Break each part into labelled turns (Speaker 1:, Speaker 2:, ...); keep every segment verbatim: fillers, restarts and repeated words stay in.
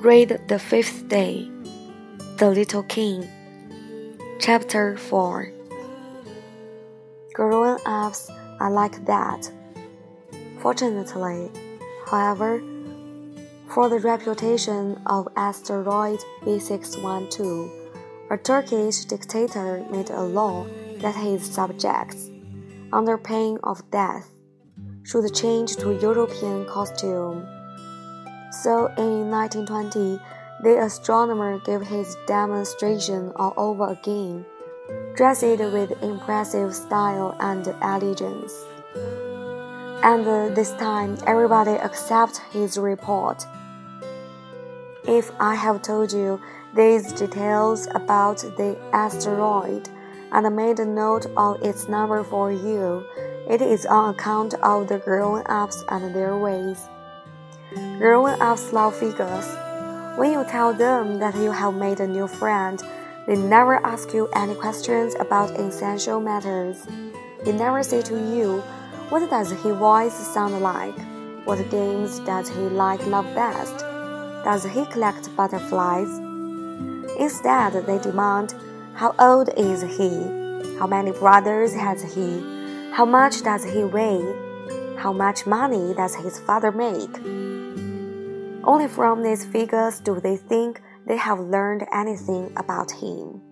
Speaker 1: Read the fifth day, The Little King. Chapter four. Grown-ups are like that. Fortunately, however, for the reputation of asteroid B six one two, a Turkish dictator made a law that his subjects, under pain of death, should change to European costume. So in nineteen twenty, the astronomer gave his demonstration all over again, dressed with impressive style and elegance. And this time, everybody accepted his report. If I have told you these details about the asteroid and made a note of its number for you, it is on account of the grown-ups and their ways. Grown-ups love figures. When you tell them that you have made a new friend, they never ask you any questions about essential matters. They never say to you, what does his voice sound like? What games does he like love best? Does he collect butterflies? Instead, they demand, how old is he? How many brothers has he? How much does he weigh? How much money does his father make? Only from these figures do they think they have learned anything about him.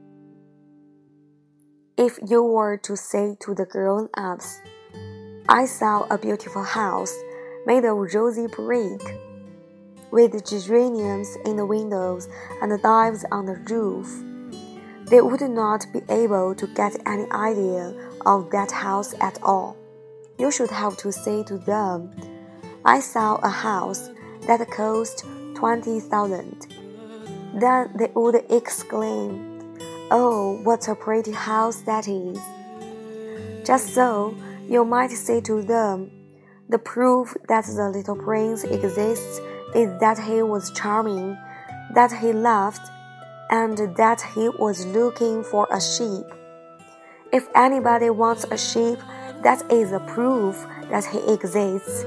Speaker 1: If you were to say to the grown-ups, I saw a beautiful house made of rosy brick, with geraniums in the windows and dives on the roof, they would not be able to get any idea of that house at all. You should have to say to them, I saw a house that cost twenty thousand. Then they would exclaim, oh, what a pretty house that is. Just so, you might say to them, the proof that the little prince exists is that he was charming, that he laughed, and that he was looking for a sheep. If anybody wants a sheep, that is a proof that he exists.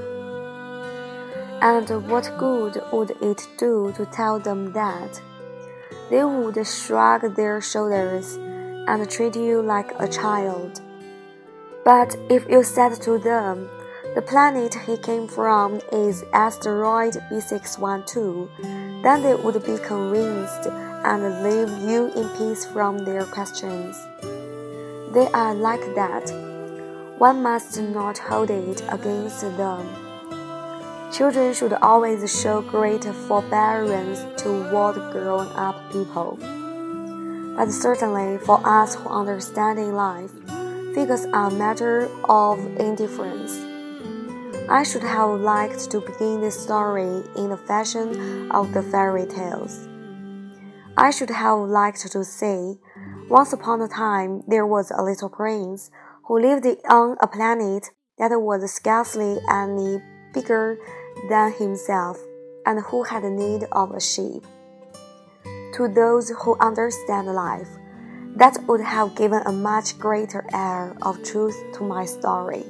Speaker 1: And what good would it do to tell them that? They would shrug their shoulders and treat you like a child. But if you said to them, the planet he came from is asteroid B six one two, then they would be convinced and leave you in peace from their questions. They are like that. One must not hold it against them. Children should always show great forbearance toward grown-up people. But certainly for us who understand in life, figures are a matter of indifference. I should have liked to begin this story in the fashion of the fairy tales. I should have liked to say, once upon a time there was a little prince who lived on a planet that was scarcely any bigger than himself, and who had need of a sheep. To those who understand life, that would have given a much greater air of truth to my story.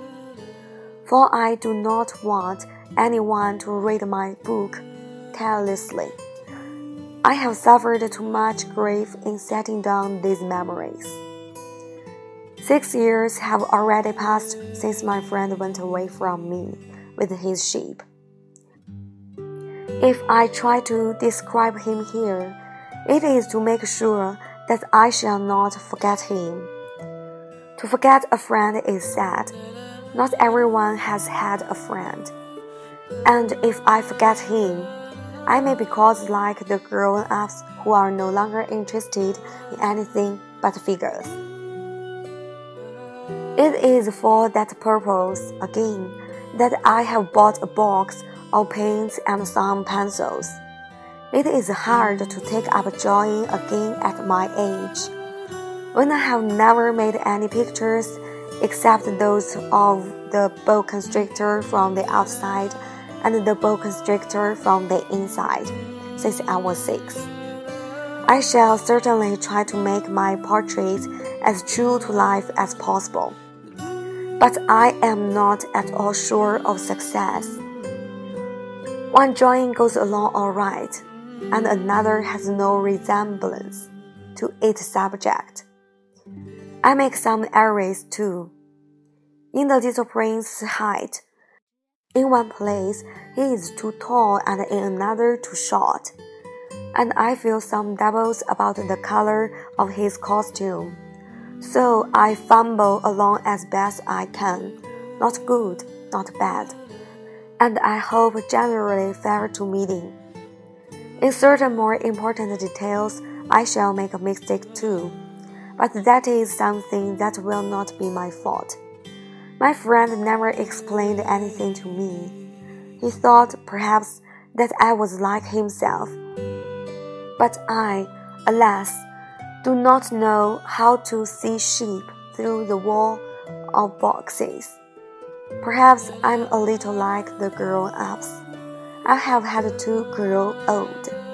Speaker 1: For I do not want anyone to read my book carelessly. I have suffered too much grief in setting down these memories. Six years have already passed since my friend went away from me with his sheep. If I try to describe him here, it is to make sure that I shall not forget him. To forget a friend is sad. Not everyone has had a friend. And if I forget him, I may be caused like the grown-ups who are no longer interested in anything but figures. It is for that purpose, again, that I have bought a box of paints and some pencils. It is hard to take up drawing again at my age, when I have never made any pictures except those of the boa constrictor from the outside and the boa constrictor from the inside, since I was six. I shall certainly try to make my portraits as true to life as possible. But I am not at all sure of success. One drawing goes along all right, and another has no resemblance to its subject. I make some errors too. In the little prince's height, in one place he is too tall and in another too short, and I feel some doubles about the color of his costume. So I fumble along as best I can, not good, not bad, and I hope generally fair to meeting. In certain more important details, I shall make a mistake too, but that is something that will not be my fault. My friend never explained anything to me. He thought, perhaps, that I was like himself. But I, alas, do not know how to see sheep through the wall of boxes. Perhaps I'm a little like the grown-ups. I have had to grow old.